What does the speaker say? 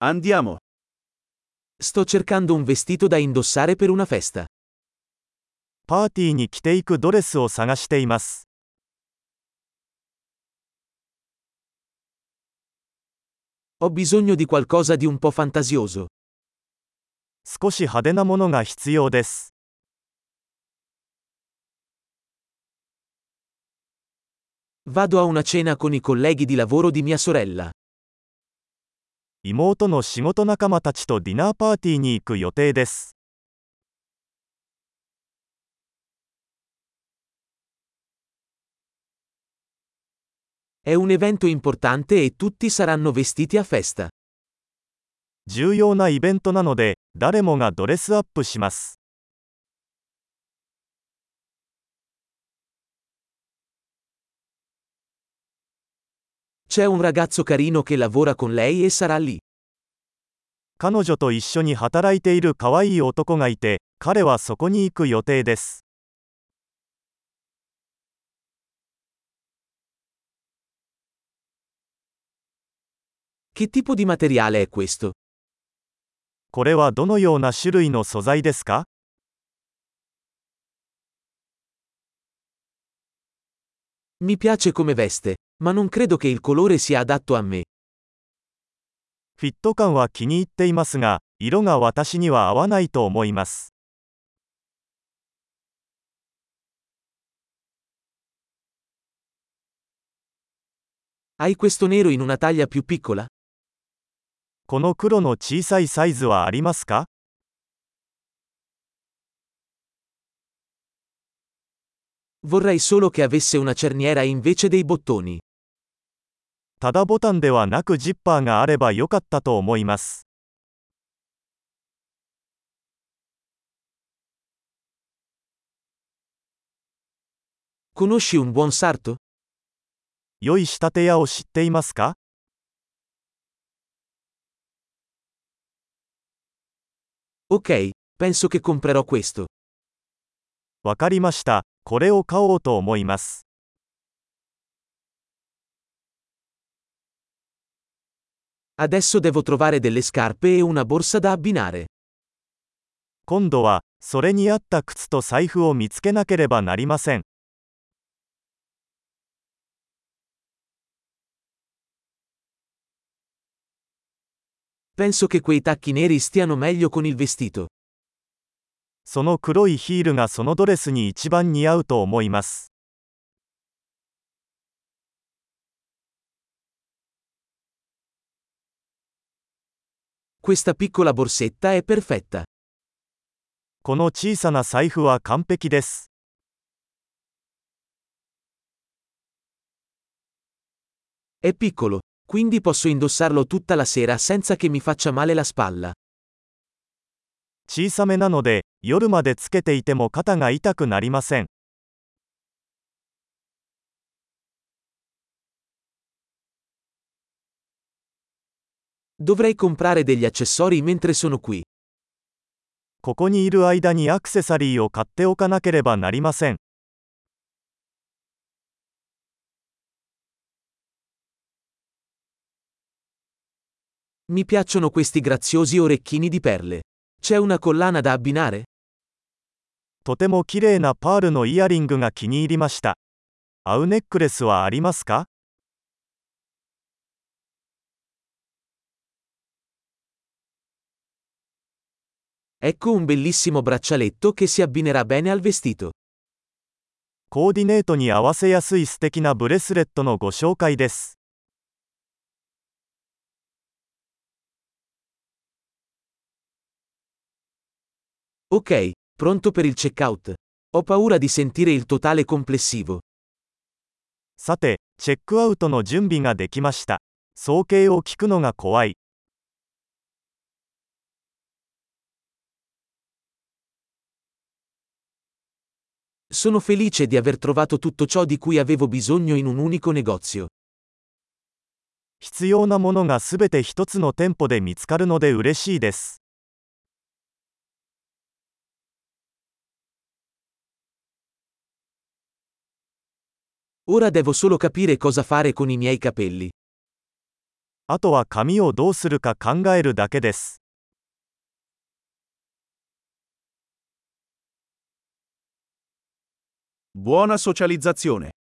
Andiamo. Sto cercando un vestito da indossare per una festa. パーティーに着ていくドレスを探しています。 Ho bisogno di qualcosa di un po' fantasioso. 少し派手なものが必要です。 Vado a una cena con i colleghi di lavoro di mia sorella. 妹の仕事仲間たちとディナーパーティーに行く予定です。 È un evento importante e tutti saranno vestiti a festa. 重要なイベントなので、誰もがドレスアップします。 C'è un ragazzo carino che lavora con lei e sarà lì. 彼女と一緒に働いている可愛い男がいて、彼はそこに行く予定です。 Che tipo di materiale è questo? これはどのような種類の素材ですか？ Mi piace come veste, ma non credo che il colore sia adatto a me. フィット感は気に入っていますが、色が私には合わないと思います。 Hai questo nero in una taglia più piccola? この黒の小さいサイズはありますか？ Vorrei solo che avesse una cerniera invece dei bottoni. ただボタンではなくジッパーがあればよかったと思います。 Conosci un buon sarto? 良い仕立て屋を知っていますか？ Ok, penso che comprerò questo. わかりました。これを買おうと思います。 Adesso devo trovare delle scarpe e una borsa da abbinare. 今度は、それに合った靴と財布を見つけなければなりません。 Penso che quei tacchi neri stiano meglio con il vestito. その黒いヒールがそのドレスに一番似合うと思います。 Questa piccola borsetta è perfetta. この小さな財布は完璧です。 È piccolo, quindi posso indossarlo tutta la sera senza che mi faccia male la spalla. 小さめなので、夜までつけていても肩が痛くなりません。 Dovrei comprare degli accessori mentre sono qui. ここにいる間にアクセサリーを買っておかなければなりません。 Mi piacciono questi graziosi orecchini di perle. C'è una collana da abbinare? とても綺麗なパールのイヤリングが気に入りました。合うネックレスはありますか？ Ecco un bellissimo braccialetto che si abbinerà bene al vestito. コーディネートに合わせやすい素敵なブレスレットのご紹介です。 Ok, pronto per il checkout. Ho paura di sentire il totale complessivo. さて、チェックアウトの準備ができました。総計を聞くのが怖い。 Sono felice di aver trovato tutto ciò di cui avevo bisogno in un unico negozio. 必要なものがすべて一つの店舗で見つかるので嬉しいです。 Ora devo solo capire cosa fare con i miei capelli. あとは髪をどうするか考えるだけです。 Buona socializzazione.